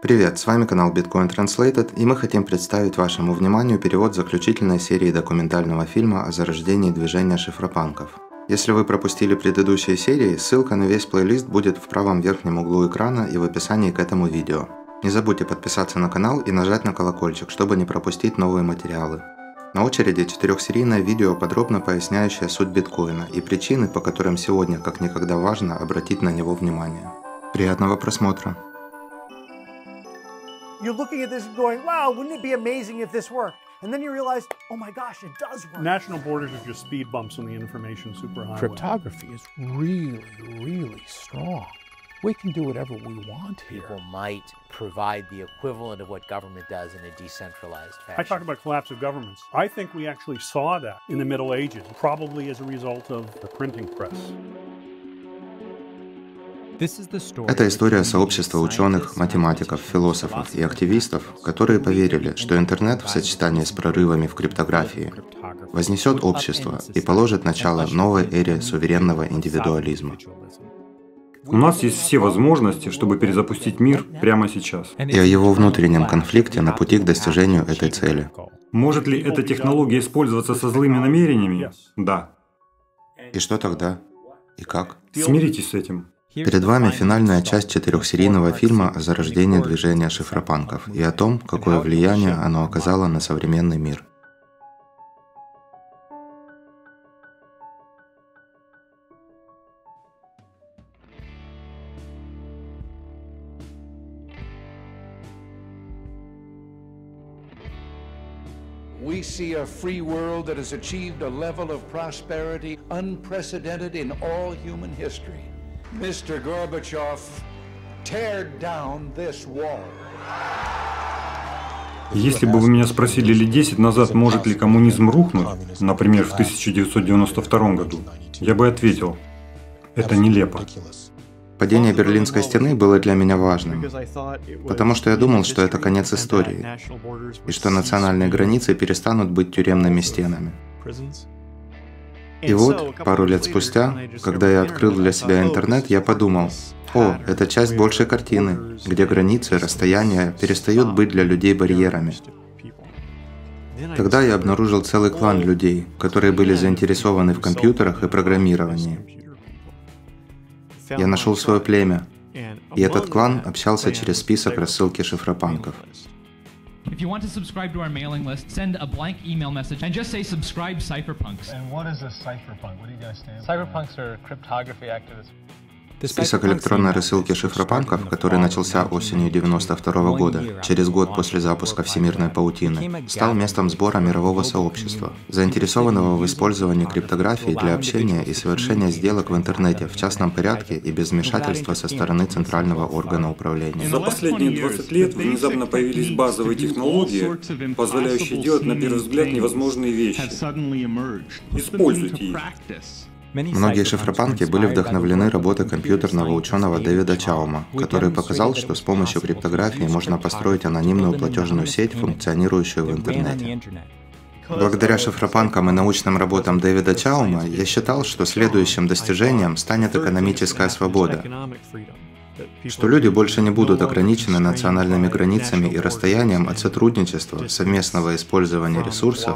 Привет, с вами канал Bitcoin Translated, и мы хотим представить вашему вниманию перевод заключительной серии документального фильма о зарождении движения шифропанков. Если вы пропустили предыдущие серии, ссылка на весь плейлист будет в правом верхнем углу экрана и в описании к этому видео. Не забудьте подписаться на канал и нажать на колокольчик, чтобы не пропустить новые материалы. На очереди 4-серийное видео, подробно поясняющее суть биткоина и причины, по которым сегодня как никогда важно обратить на него внимание. Приятного просмотра! You're looking at this and going, wow, wouldn't it be amazing if this worked? And then you realize, oh my gosh, it does work. National borders are just speed bumps on the information superhighway. Cryptography is really strong. We can do whatever we want here. People might provide the equivalent of what government does in a decentralized fashion. I talk about collapse of governments. I think we actually saw that in the Middle Ages, probably as a result of the printing press. Это история сообщества ученых, математиков, философов и активистов, которые поверили, что интернет в сочетании с прорывами в криптографии вознесет общество и положит начало новой эре суверенного индивидуализма. У нас есть все возможности, чтобы перезапустить мир прямо сейчас. И о его внутреннем конфликте на пути к достижению этой цели. Может ли эта технология использоваться со злыми намерениями? Да. И что тогда? И как? Смиритесь с этим. Перед вами финальная часть 4-серийного фильма о зарождении движения шифропанков и о том, какое влияние оно оказало на современный мир. We see a free world that has achieved a level of prosperity unprecedented in all human history. Mr. Gorbachev, tear down this wall. Если бы вы меня спросили лет 10 назад, может ли коммунизм рухнуть, например, в 1992 году, я бы ответил, это нелепо. Падение Берлинской стены было для меня важным, потому что я думал, что это конец истории, и что национальные границы перестанут быть тюремными стенами. И вот, пару лет спустя, когда я открыл для себя интернет, я подумал, о, это часть большей картины, где границы, расстояния перестают быть для людей барьерами. Тогда я обнаружил целый клан людей, которые были заинтересованы в компьютерах и программировании. Я нашел свое племя, и этот клан общался через список рассылки шифропанков. If you want to subscribe to our mailing list, send a blank email message and just say subscribe Cypherpunks. And what is a cypherpunk? What do you guys stand for? Cypherpunks are cryptography activists. Список электронной рассылки шифропанков, который начался осенью 1992 года, через год после запуска Всемирной паутины, стал местом сбора мирового сообщества, заинтересованного в использовании криптографии для общения и совершения сделок в интернете в частном порядке и без вмешательства со стороны центрального органа управления. За последние 20 лет внезапно появились базовые технологии, позволяющие делать на первый взгляд невозможные вещи. Используйте их. Многие шифропанки были вдохновлены работой компьютерного ученого Дэвида Чаума, который показал, что с помощью криптографии можно построить анонимную платежную сеть, функционирующую в интернете. Благодаря шифропанкам и научным работам Дэвида Чаума я считал, что следующим достижением станет экономическая свобода, что люди больше не будут ограничены национальными границами и расстоянием от сотрудничества, совместного использования ресурсов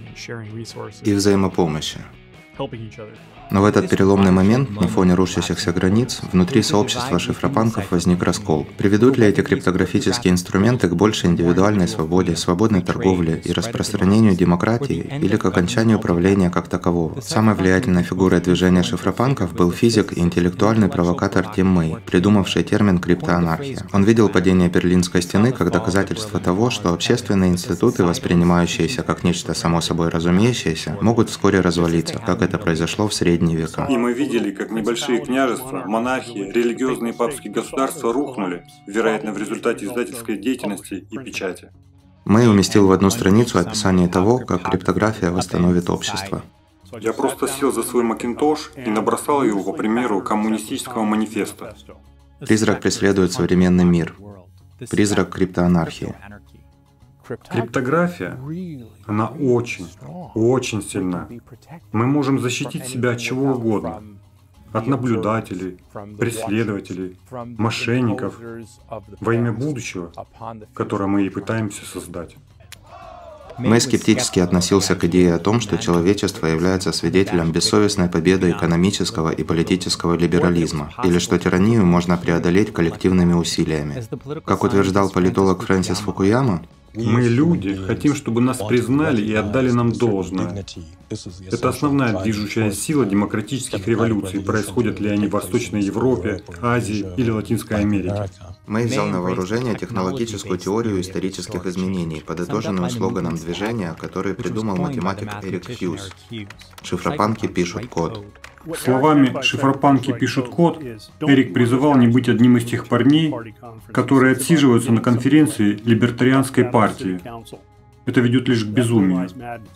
и взаимопомощи. Но в этот переломный момент, на фоне рушащихся границ, внутри сообщества шифропанков возник раскол. Приведут ли эти криптографические инструменты к большей индивидуальной свободе, свободной торговле и распространению демократии, или к окончанию правления как такового? Самой влиятельной фигурой движения шифропанков был физик и интеллектуальный провокатор Тим Мэй, придумавший термин криптоанархия. Он видел падение Берлинской стены как доказательство того, что общественные институты, воспринимающиеся как нечто само собой разумеющееся, могут вскоре развалиться, как это произошло в средние века. И мы видели, как небольшие княжества, монархии, религиозные папские государства рухнули, вероятно, в результате издательской деятельности и печати. Мэй уместил в одну страницу описание того, как криптография восстановит общество. Я просто сел за свой Макинтош и набросал его по примеру коммунистического манифеста. Призрак преследует современный мир. Призрак криптоанархии. Криптография, она очень сильна. Мы можем защитить себя от чего угодно. от наблюдателей, преследователей, мошенников во имя будущего, которое мы и пытаемся создать. Мэй скептически относился к идее о том, что человечество является свидетелем бессовестной победы экономического и политического либерализма, или что тиранию можно преодолеть коллективными усилиями. Как утверждал политолог Фрэнсис Фукуяма, мы, люди, хотим, чтобы нас признали и отдали нам должное. Это основная движущая сила демократических революций, происходят ли они в Восточной Европе, Азии или Латинской Америке. Мэй взял на вооружение технологическую теорию исторических изменений, подытоженную слоганом движения, который придумал математик Эрик Хьюз. Шифропанки пишут код. Словами «шифропанки пишут код» Эрик призывал не быть одним из тех парней, которые отсиживаются на конференции либертарианской партии. Это ведет лишь к безумию.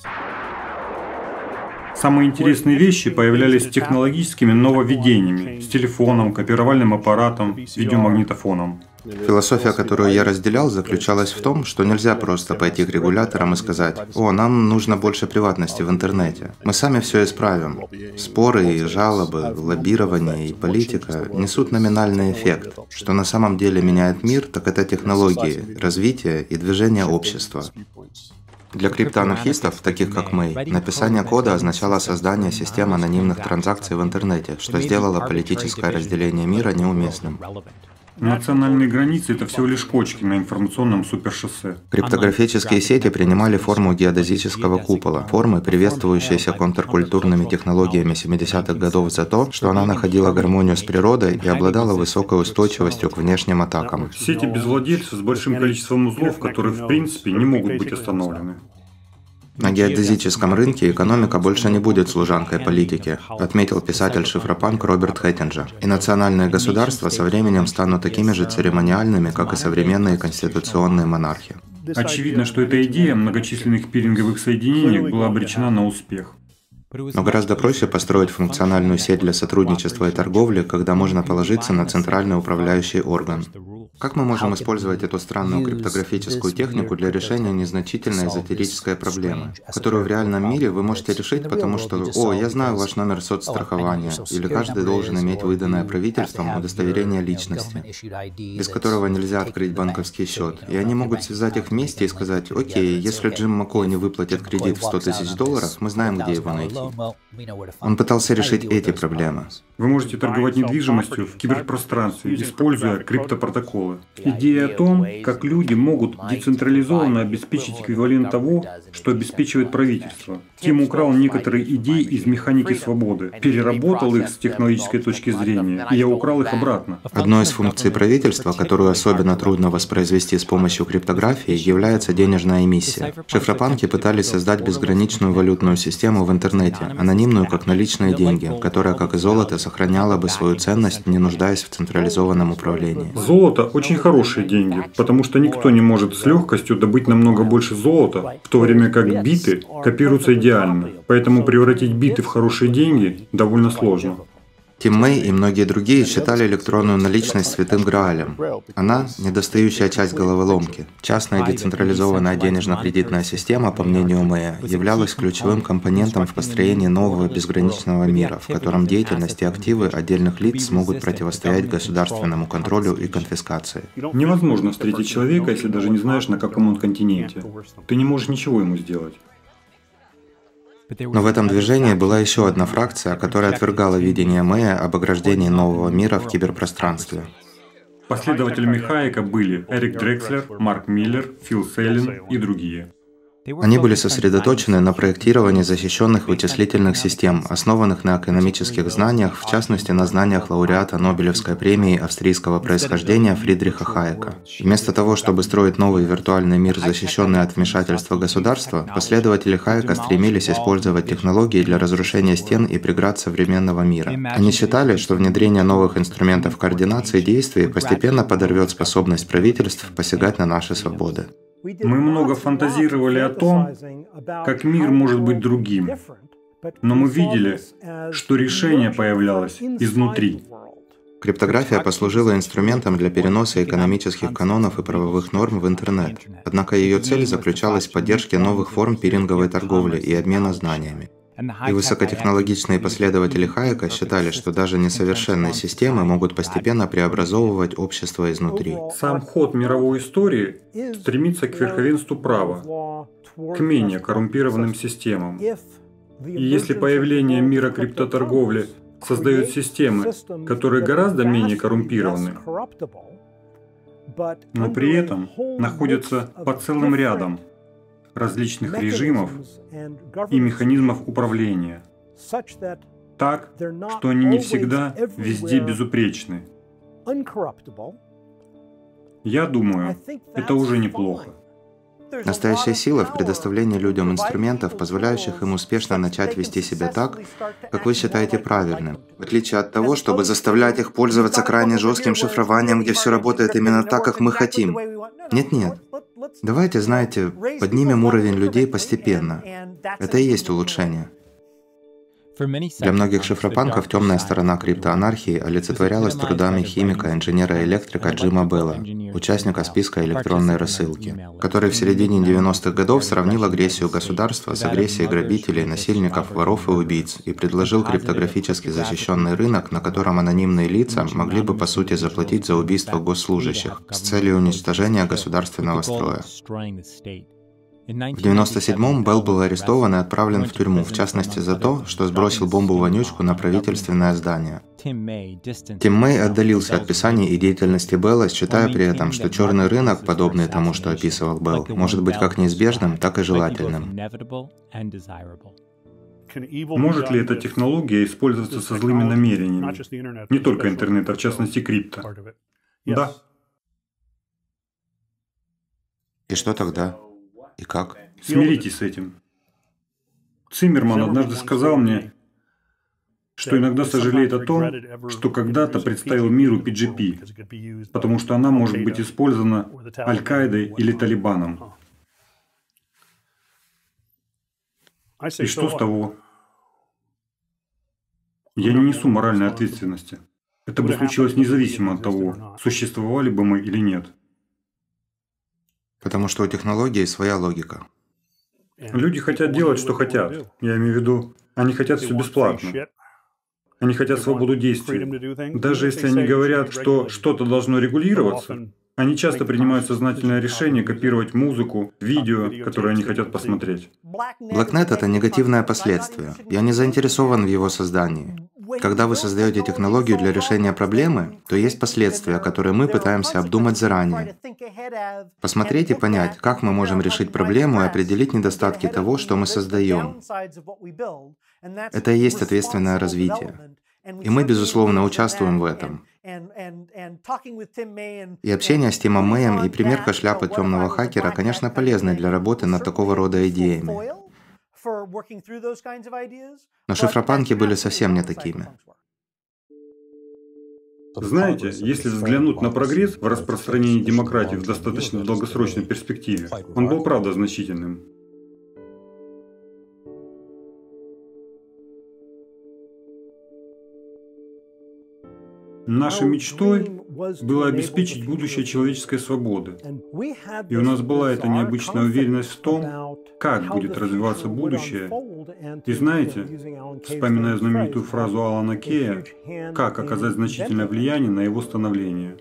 Самые интересные вещи появлялись с технологическими нововведениями, с телефоном, копировальным аппаратом, видеомагнитофоном. Философия, которую я разделял, заключалась в том, что нельзя просто пойти к регуляторам и сказать: «О, нам нужно больше приватности в интернете. Мы сами все исправим». Споры и жалобы, лоббирование и политика несут номинальный эффект. Что на самом деле меняет мир, так это технологии, развитие и движение общества. Для криптоанархистов, таких как Мэй, написание кода означало создание систем анонимных транзакций в интернете, что сделало политическое разделение мира неуместным. Национальные границы — это всего лишь кочки на информационном супершоссе. Криптографические сети принимали форму геодезического купола, формы, приветствующиеся контркультурными технологиями 70-х годов за то, что она находила гармонию с природой и обладала высокой устойчивостью к внешним атакам. Сети без владельцев с большим количеством узлов, которые в принципе не могут быть остановлены. На геодезическом рынке экономика больше не будет служанкой политики, отметил писатель-шифропанк Роберт Хэттинджер. И национальные государства со временем станут такими же церемониальными, как и современные конституционные монархи. Очевидно, что эта идея многочисленных пиринговых соединений была обречена на успех. Но гораздо проще построить функциональную сеть для сотрудничества и торговли, когда можно положиться на центральный управляющий орган. Как мы можем использовать эту странную криптографическую технику для решения незначительной эзотерической проблемы, которую в реальном мире вы можете решить, потому что «О, я знаю ваш номер соцстрахования», или каждый должен иметь выданное правительством удостоверение личности, без которого нельзя открыть банковский счет, и они могут связать их вместе и сказать: «Окей, если Джим Маккой не выплатит кредит в $100 000, мы знаем, где его найти». Он пытался решить эти проблемы. Вы можете торговать недвижимостью в киберпространстве, используя криптопротоколы. Идея о том, как люди могут децентрализованно обеспечить эквивалент того, что обеспечивает правительство. Тим украл некоторые идеи из механики свободы, переработал их с технологической точки зрения, и я украл их обратно. Одной из функций правительства, которую особенно трудно воспроизвести с помощью криптографии, является денежная эмиссия. Шифропанки пытались создать безграничную валютную систему в интернете, анонимную как наличные деньги, которая, как и золото, сохраняла бы свою ценность, не нуждаясь в централизованном управлении. Золото – очень хорошие деньги, потому что никто не может с легкостью добыть намного больше золота, в то время как биты копируются идеально. Поэтому превратить биты в хорошие деньги довольно сложно. Тим Мэй и многие другие считали электронную наличность святым Граалем. Она – недостающая часть головоломки. Частная децентрализованная денежно-кредитная система, по мнению Мэя, являлась ключевым компонентом в построении нового безграничного мира, в котором деятельность и активы отдельных лиц смогут противостоять государственному контролю и конфискации. Невозможно встретить человека, если даже не знаешь, на каком он континенте. Ты не можешь ничего ему сделать. Но в этом движении была еще одна фракция, которая отвергала видение Мэя об ограждении нового мира в киберпространстве. Последователями Хайека были Эрик Дрекслер, Марк Миллер, Фил Сейлин и другие. Они были сосредоточены на проектировании защищенных вычислительных систем, основанных на экономических знаниях, в частности на знаниях лауреата Нобелевской премии австрийского происхождения Фридриха Хайека. Вместо того, чтобы строить новый виртуальный мир, защищенный от вмешательства государства, последователи Хайека стремились использовать технологии для разрушения стен и преград современного мира. Они считали, что внедрение новых инструментов координации действий постепенно подорвет способность правительств посягать на наши свободы. Мы много фантазировали о том, как мир может быть другим, но мы видели, что решение появлялось изнутри. Криптография послужила инструментом для переноса экономических канонов и правовых норм в интернет. Однако ее цель заключалась в поддержке новых форм пиринговой торговли и обмена знаниями. И высокотехнологичные последователи Хайека считали, что даже несовершенные системы могут постепенно преобразовывать общество изнутри. Сам ход мировой истории стремится к верховенству права, к менее коррумпированным системам. И если появление мира криптоторговли создает системы, которые гораздо менее коррумпированы, но при этом находятся под целым рядом различных режимов и механизмов управления, так, что они не всегда везде безупречны. Я думаю, это уже неплохо. Настоящая сила в предоставлении людям инструментов, позволяющих им успешно начать вести себя так, как вы считаете правильным, в отличие от того, чтобы заставлять их пользоваться крайне жестким шифрованием, где все работает именно так, как мы хотим. Нет-нет. Давайте, знаете, поднимем уровень людей постепенно. Это и есть улучшение. Для многих шифропанков темная сторона криптоанархии олицетворялась трудами химика, инженера-электрика Джима Белла, участника списка электронной рассылки, который в середине 90-х годов сравнил агрессию государства с агрессией грабителей, насильников, воров и убийц и предложил криптографически защищенный рынок, на котором анонимные лица могли бы по сути заплатить за убийство госслужащих с целью уничтожения государственного строя. В 1997-м Белл был арестован и отправлен в тюрьму, в частности за то, что сбросил бомбу-вонючку на правительственное здание. Тим Мэй отдалился от писаний и деятельности Белла, считая при этом, что черный рынок, подобный тому, что описывал Белл, может быть как неизбежным, так и желательным. Может ли эта технология использоваться со злыми намерениями? Не только интернет, а в частности крипто. Да. И что тогда? И как? Смиритесь с этим. Циммерман однажды сказал мне, что иногда сожалеет о том, что когда-то представил миру PGP, потому что она может быть использована Аль-Каидой или Талибаном. И что с того? Я не несу моральной ответственности. Это бы случилось независимо от того, существовали бы мы или нет. Потому что у технологии своя логика. Люди хотят делать, что хотят. Я имею в виду, они хотят все бесплатно. Они хотят свободу действий. Даже если они говорят, что что-то должно регулироваться, они часто принимают сознательное решение копировать музыку, видео, которые они хотят посмотреть. Blacknet — это негативное последствие. Я не заинтересован в его создании. Когда вы создаете технологию для решения проблемы, то есть последствия, которые мы пытаемся обдумать заранее. Посмотреть и понять, как мы можем решить проблему и определить недостатки того, что мы создаем. Это и есть ответственное развитие. И мы, безусловно, участвуем в этом. И общение с Тимом Мэем и примерка шляпы темного хакера, конечно, полезны для работы над такого рода идеями. Но шифропанки были совсем не такими. Знаете, если взглянуть на прогресс в распространении демократии в достаточно долгосрочной перспективе, он был правда значительным. Нашей мечтой было обеспечить будущее человеческой свободы. И у нас была эта необычная уверенность в том, как будет развиваться будущее. И знаете, вспоминая знаменитую фразу Алана Кея, как оказать значительное влияние на его становление.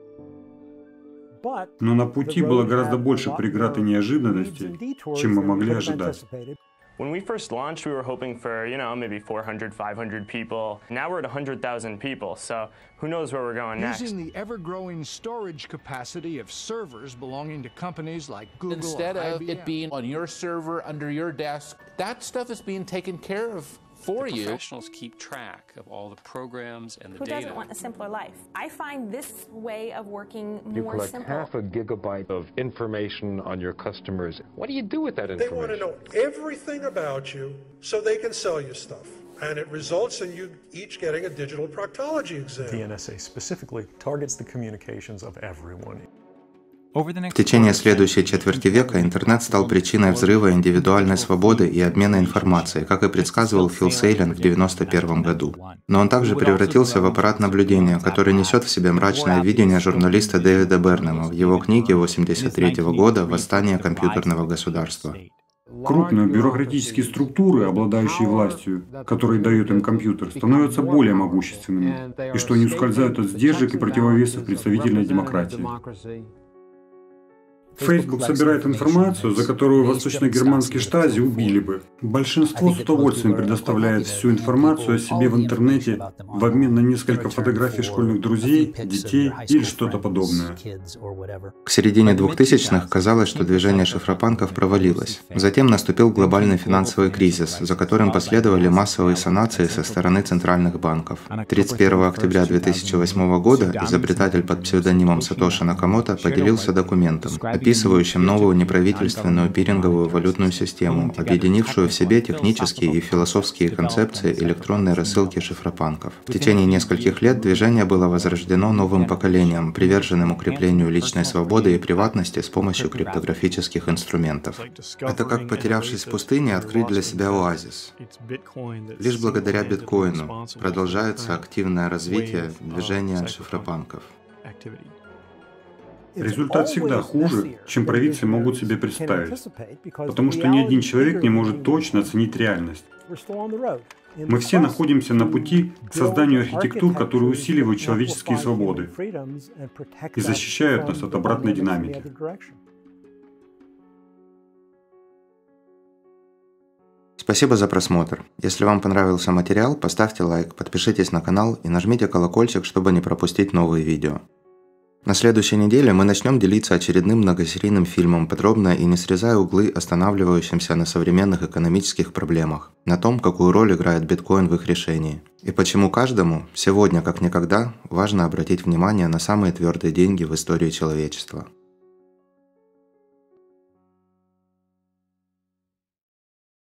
Но на пути было гораздо больше преград и неожиданностей, чем мы могли ожидать. When we first launched, we were hoping for, maybe 400, 500 people. Now we're at 100,000 people, so who knows where we're going next. Using the ever-growing storage capacity of servers belonging to companies like Google, instead of IBM. it being on your server, under your desk, that stuff is being taken care of for you. Professionals keep track of all the programs and the data. Who doesn't want a simpler life? I find this way of working more simple. You collect half a gigabyte of information on your customers. What do you do with that information? They want to know everything about you so they can sell you stuff. And it results in you each getting a digital proctology exam. The NSA specifically targets the communications of everyone. В течение следующей четверти века интернет стал причиной взрыва индивидуальной свободы и обмена информацией, как и предсказывал Фил Сейлин в 1991 году. Но он также превратился в аппарат наблюдения, который несет в себе мрачное видение журналиста Дэвида Бернема в его книге 1983 года «Восстание компьютерного государства». Крупные бюрократические структуры, обладающие властью, которые дает им компьютер, становятся более могущественными, и что они ускользают от сдержек и противовесов представительной демократии. Facebook собирает информацию, за которую восточно-германские штази убили бы. Большинство с удовольствием предоставляет всю информацию о себе в интернете в обмен на несколько фотографий школьных друзей, детей или что-то подобное. К середине 2000-х казалось, что движение шифропанков провалилось. Затем наступил глобальный финансовый кризис, за которым последовали массовые санации со стороны центральных банков. 31 октября 2008 года изобретатель под псевдонимом Сатоши Накамото поделился документом, описывающим новую неправительственную пиринговую валютную систему, объединившую в себе технические и философские концепции электронной рассылки шифропанков. В течение нескольких лет движение было возрождено новым поколением, приверженным укреплению личной свободы и приватности с помощью криптографических инструментов. Это как, потерявшись в пустыне, открыть для себя оазис. Лишь благодаря биткоину продолжается активное развитие движения шифропанков. Результат всегда хуже, чем провидцы могут себе представить, потому что ни один человек не может точно оценить реальность. Мы все находимся на пути к созданию архитектур, которые усиливают человеческие свободы и защищают нас от обратной динамики. Спасибо за просмотр. Если вам понравился материал, поставьте лайк, подпишитесь на канал и нажмите колокольчик, чтобы не пропустить новые видео. На следующей неделе мы начнем делиться очередным многосерийным фильмом, подробно и не срезая углы, останавливающимся на современных экономических проблемах, на том, какую роль играет биткоин в их решении. И почему каждому, сегодня как никогда, важно обратить внимание на самые твердые деньги в истории человечества.